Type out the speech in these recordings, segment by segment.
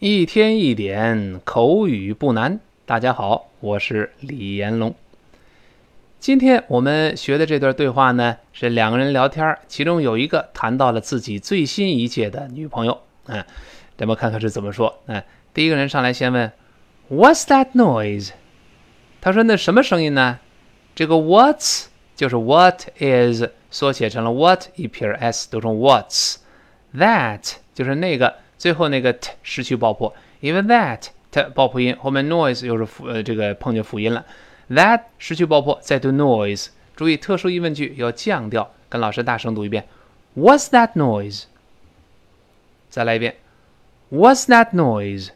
一天一点口语不难。大家好，我是李延龙。今天我们学的这段对话呢，是两个人聊天，其中有一个谈到了自己最新一届的女朋友。咱们看看是怎么说。第一个人上来先问 What's that noise？ 他说那什么声音呢？这个 What's 就是 What is 缩写成了 What 一撇 s 读成 What's。 That 就是那个最后那个 t 失去爆破，因为 that t 爆破音后面 noise 又是这个碰见辅音了。That 失去爆破，再读 noise。注意特殊疑问句要降调，跟老师大声读一遍 What's that noise？ 再来一遍 What's that noise？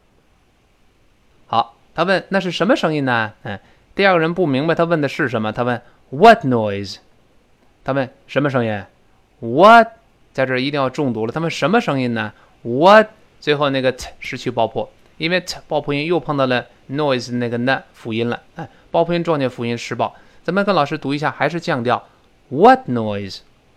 好，他问那是什么声音呢？第二个人不明白他问的是什么，他问 What noise？ 他问什么声音 What 在这儿一定要重读了，他问什么声音呢？ What 最后那个 t 失去爆破，因为 t 爆破音又碰到了 noise 那个 n 辅音了，爆破音撞见辅音失爆。咱们跟老师读一下，还是降调 What noise？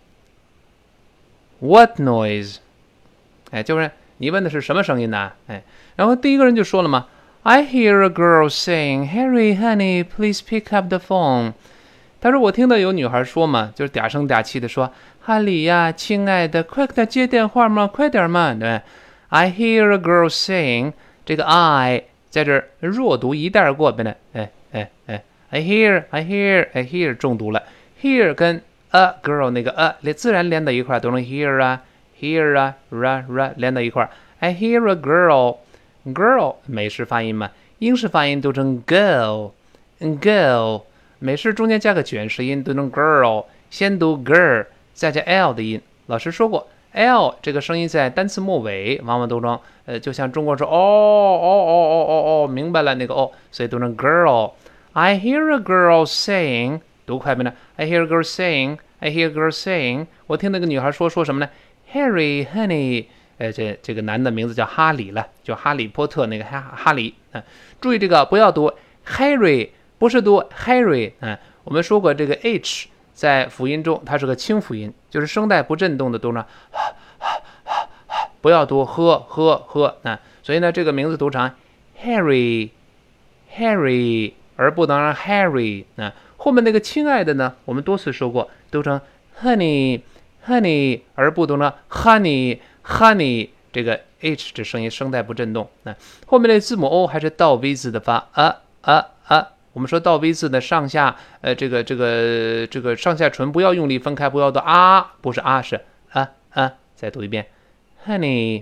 What noise？ 就是你问的是什么声音呢？然后第一个人就说了嘛， I hear a girl saying Harry honey please pick up the phone。 他说我听到有女孩说嘛，就是嗲声嗲气的说，哈里呀亲爱的快点接电话嘛，快点嘛，对。I hear a girl saying， 这个 I 在这儿弱读一带而过，变得I hear 重读了。 Hear 跟 a girl 那个 a 自然连到一块，读成 hear 啊 ra 连到一块。 I hear a girl 美式发音嘛，英式发音读成 girl， 美式中间加个卷舌音读成 girl， 先读 girl 再加 l 的音。老师说过L 这个声音在单词末尾往往读成就像中国说明白了那个所以读成 girl。 I hear a girl saying， 读快没呢？ I hear a girl saying， 我听那个女孩说什么呢？ Harry honey， 这个男的名字叫哈里了，就哈利波特那个哈里。注意这个不要读 Harry， 不是读 Harry。我们说过这个 H在辅音中它是个清辅音，就是声带不震动的读呢，不要读呵，所以呢这个名字读成 Harry， 而不能让 Harry。后面那个亲爱的呢，我们多次说过，读成 honey， 而不读成 honey， 这个 H 这声音声带不震动。后面的字母 O 还是倒 V 字的发我们说倒 V 字的上下这个上下唇不要用力分开，不要读不是是再读一遍 honey，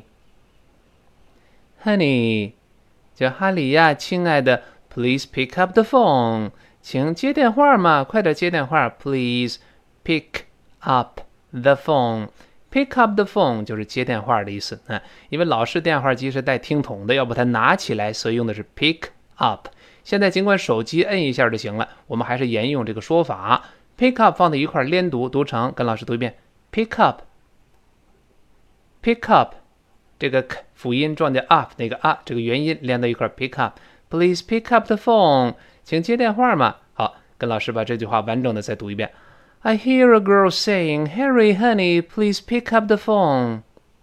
叫哈里呀亲爱的 please pick up the phone， 请接电话嘛，快点接电话 please pick up the phone。 pick up the phone 就是接电话的意思。因为老式电话机是带听筒的，要把它拿起来，所以用的是 pick up。现在尽管手机摁一下就行了，我们还是沿用这个说法， pick up 放在一块连读，读成跟老师读一遍 pick up， 这个辅音撞见 up 那个这个元音连到一块 pick up， please pick up the phone， 请接电话嘛。好，跟老师把这句话完整的再读一遍， I hear a girl saying Harry honey please pick up the phone。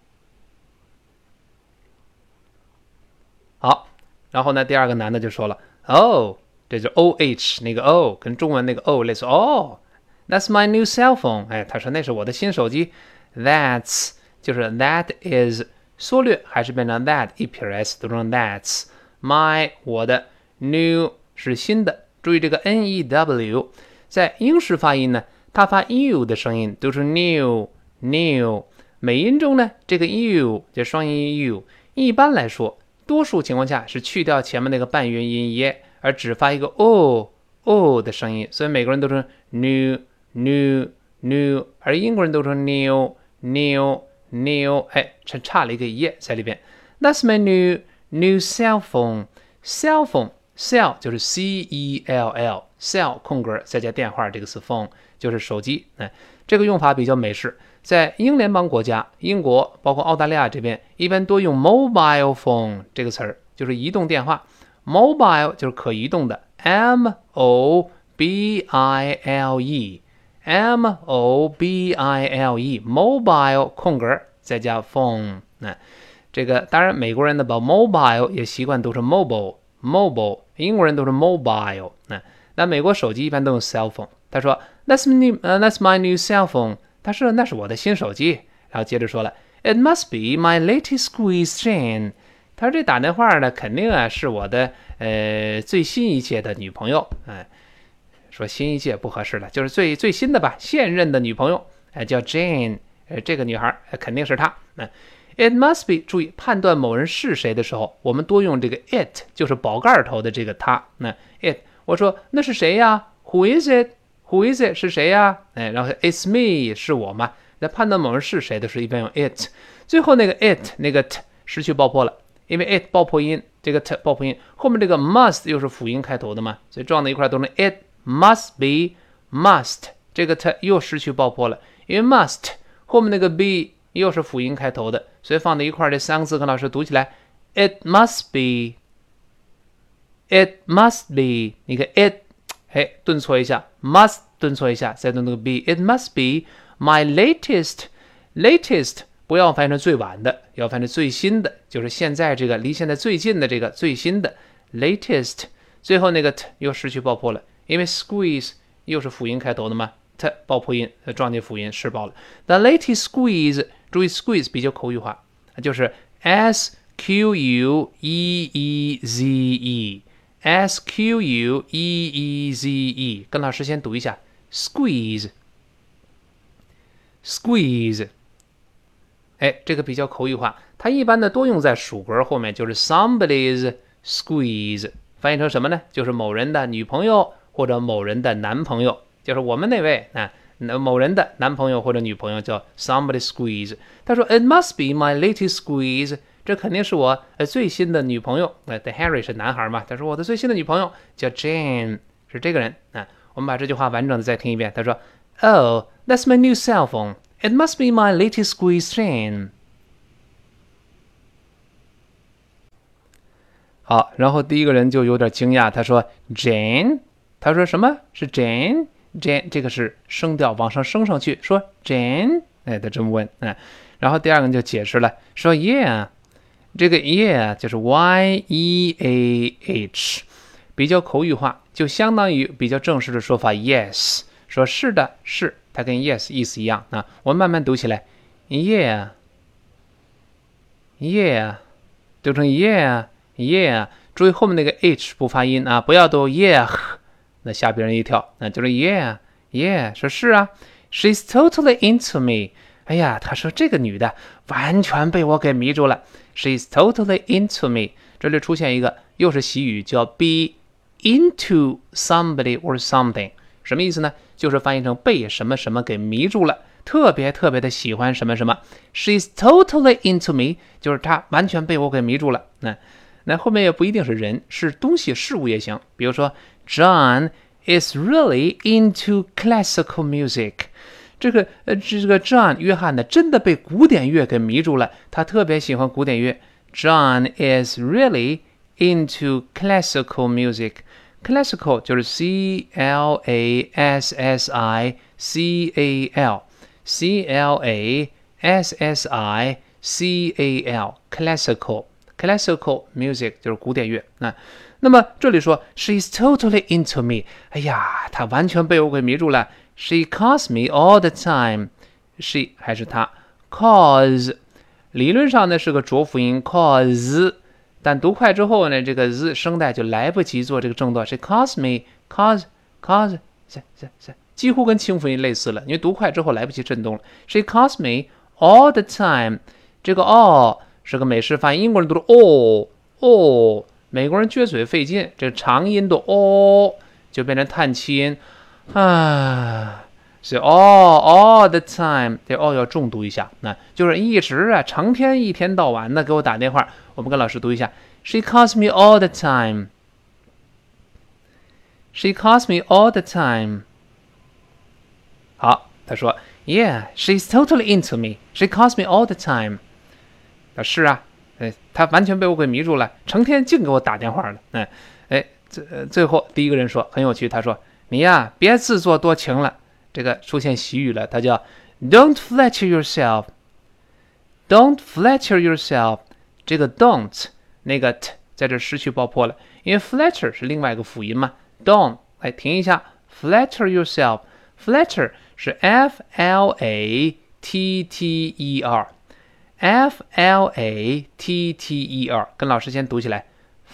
好，然后呢第二个男的就说了这就 OH 那个 O 跟中文那个 O 类似That's my new cell phone。 他说那是我的新手机。 That's 就是 That is 缩略还是变成 That 一撇 S 读成 That's my 我的 New 是新的。注意这个 NEW 在英式发音呢，它发 U 的声音读成 New。 美音中呢这个 U 就双音 U 一般来说多数情况下是去掉前面那个半元音耶，而只发一个 O 的声音，所以美国人都成 new， 而英国人都成 new， 差了一个耶在里边。 That's my new cell phone。 cell 就是 CELL， cell 空格再加电话这个词 phone 就是手机。这个用法比较美式，在英联邦国家，英国包括澳大利亚这边一般多用 mobile phone 这个词儿，就是移动电话。 mobile 就是可移动的 mobile mobile 空格再加 phone。 这个当然美国人呢把 mobile 也习惯都是 mobile，英国人都是 mobile。那美国手机一般都用 cell phone。他说 that's my new cell phone。他说那是我的新手机。然后接着说了 it must be my latest squeeze Jane。他说这打电话呢肯定啊是我的最新一届的女朋友。说新一届不合适了，就是最新的吧，现任的女朋友叫 Jane。这个女孩肯定是她。It must be， 注意判断某人是谁的时候，我们多用这个 it， 就是宝盖头的这个它。it， 我说那是谁呀 ？Who is it？Who is it 是谁呀？然后 it's me 是我嘛？在判断某人是谁的时候，一般用 it。最后那个 it 那个 t 失去爆破了，因为 it 爆破音，这个 t 爆破音，后面这个 must 又是辅音开头的嘛，所以撞在一块都是 it must be must， 这个 t 又失去爆破了，因为 must 后面那个 be 又是辅音开头的，所以放在一块这三个字跟老师读起来 it must be， it must be， 你看 it 顿挫一下 must 顿挫一下，再顿那个 be， it must be my latest 不要翻译成最晚的，要翻译成最新的，就是现在这个离现在最近的这个最新的 latest， 最后那个 t 又失去爆破了，因为 squeeze 又是辅音开头的嘛， t 爆破音撞进辅音失爆了。The latest squeeze， 注意 squeeze 比较口语化，就是 squeeze， 跟老师先读一下 squeeze， 这个比较口语化，它一般的多用在属格后面，就是 somebody's squeeze， 翻译成什么呢？就是某人的女朋友或者某人的男朋友，就是我们那位某人的男朋友或者女朋友叫 somebody's squeeze。他说 it must be my latest squeeze， 这肯定是我最新的女朋友。The Harry 是男孩嘛，他说我的最新的女朋友叫 Jane， 是这个人。我们把这句话完整的再听一遍。他说 Oh, that's my new cell phone.It must be my latest squeeze Jane。 好，然后第一个人就有点惊讶，他说 Jane， 他说什么是 Jane？ Jane 这个是声调往上升上去，说 Jane， 他这么问。然后第二个人就解释了，说 Yeah， 这个 Yeah 就是 Y-E-A-H， 比较口语化，就相当于比较正式的说法 Yes， 说是的是，它跟 yes 意思一样。我们慢慢读起来 Yeah， 读成 Yeah， 注意后面那个 H 不发音不要读 Yeah， 那吓别人一跳。就是 Yeah， 说是啊 She's totally into me。 哎呀，他说这个女的完全被我给迷住了。 She's totally into me， 这里出现一个又是习语，叫 be into somebody or something， 什么意思呢？就是翻译成被什么什么给迷住了，特别特别的喜欢什么什么。 She's totally into me， 就是她完全被我给迷住了。那后面也不一定是人，是东西事物也行。比如说 John is really into classical music， 这个 John 约翰呢真的被古典乐给迷住了，他特别喜欢古典乐。 John is really into classical music。Classical 就是 Classical music 就是古典乐。那么这里说 She's totally into me， 哎呀，她完全被我给迷住了。 She calls me all the time， She 还是她 calls， 理论上呢是个浊辅音 calls，但读快之后呢，这个 z 声带就来不及做这个正断。She calls me， calls， 几乎跟清辅音类似了，因为读快之后来不及震动了。She calls me all the time， 这个 all 是个美式发音，英国人读的 all， 美国人撅嘴费劲，这个长音读 all 就变成叹气音所以 all the time， 这 all 要重读一下，就是一直成天一天到晚的给我打电话。我们跟老师读一下 She calls me all the time， She calls me all the time。 好，他说 Yeah, she's totally into me. She calls me all the time。 是啊，她完全被我给迷住了，成天净给我打电话了。最后第一个人说很有趣，他说你呀别自作多情了，这个出现习语了，它叫 Don't flatter yourself。 Don't flatter yourself， 这个 don't 那个 t 在这失去爆破了，因为 flatter 是另外一个辅音嘛。don't 来停一下 ，flatter yourself。flatter 是 flatter，flatter，跟老师先读起来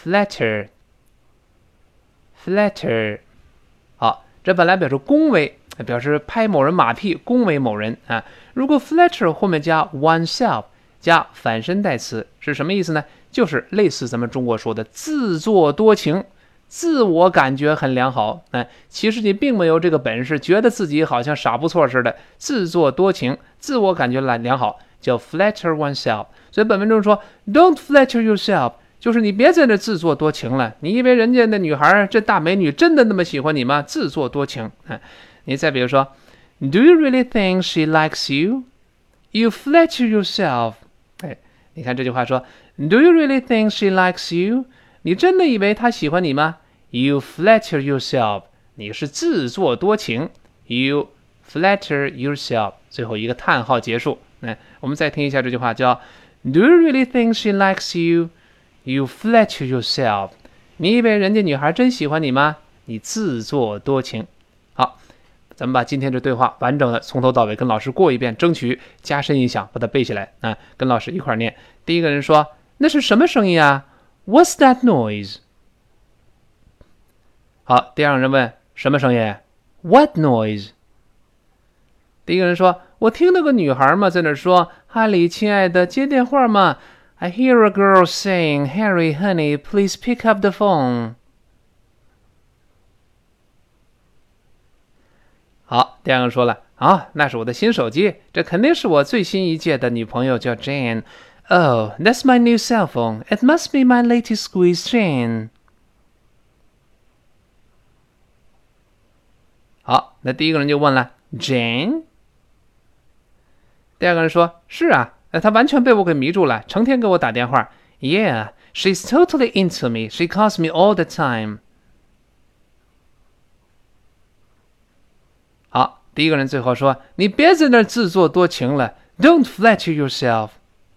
，flatter。好，这本来表示恭维，表示拍某人马屁，恭维某人啊。如果 flatter 后面加 oneself， 加反身代词是什么意思呢？就是类似咱们中国说的自作多情，自我感觉很良好。其实你并没有这个本事，觉得自己好像傻不错似的，自作多情，自我感觉良好，叫 flatter oneself。所以本文中说 ，Don't flatter yourself。就是你别在那自作多情了，你以为人家那女孩这大美女真的那么喜欢你吗？自作多情。你再比如说 ，Do you really think she likes you? You flatter yourself。你看这句话说 ，Do you really think she likes you? 你真的以为她喜欢你吗 ？You flatter yourself。你是自作多情。You flatter yourself。最后一个叹号结束。我们再听一下这句话，叫 Do you really think she likes you?You flatter yourself。你以为人家女孩真喜欢你吗？你自作多情。好，咱们把今天这对话完整的从头到尾跟老师过一遍，争取加深印象，把它背起来啊！跟老师一块念。第一个人说：“那是什么声音啊 ？”What's that noise？ 好，第二个人问：“什么声音 ？”What noise？ 第一个人说：“我听那个女孩嘛，在那说，哈利，亲爱的，接电话嘛。I hear a girl saying, Harry, honey, please pick up the phone. 好，第二个说了，那是我的新手机，这肯定是我最新一届的女朋友叫 Jane. Oh, that's my new cell phone. It must be my latest squeeze, Jane. 好，那第一个人就问了 Jane？ 第二个人说，是啊。他完全被我给迷住了，成天给我打电话。Yeah, she's totally into me. She calls me all the time. 好，第一个人最后说：“你别在那儿自作多情了 ，Don't flatter yourself。”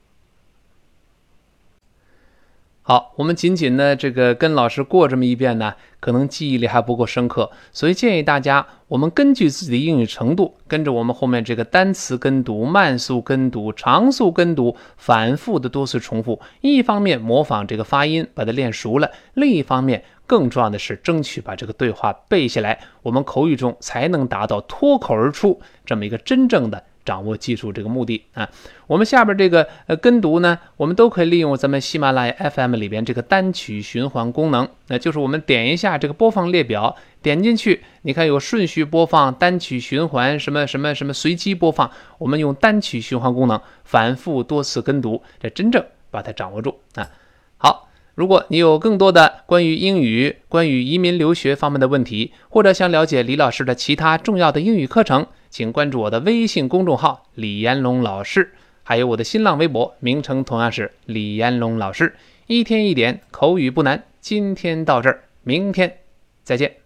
好，我们仅仅呢这个跟老师过这么一遍呢，可能记忆力还不够深刻，所以建议大家，我们根据自己的英语程度，跟着我们后面这个单词跟读、慢速跟读、长速跟读，反复的多次重复。一方面模仿这个发音，把它练熟了；另一方面，更重要的是争取把这个对话背下来，我们口语中才能达到脱口而出这么一个真正的掌握技术这个目的啊。我们下边这个跟读呢，我们都可以利用咱们喜马拉雅 FM 里边这个单曲循环功能，那就是我们点一下这个播放列表，点进去，你看有顺序播放、单曲循环、什么随机播放，我们用单曲循环功能反复多次跟读，这真正把它掌握住啊。好，如果你有更多的关于英语、关于移民留学方面的问题，或者想了解李老师的其他重要的英语课程，请关注我的微信公众号李延龙老师，还有我的新浪微博，名称同样是李延龙老师。一天一点口语不难，今天到这儿，明天再见。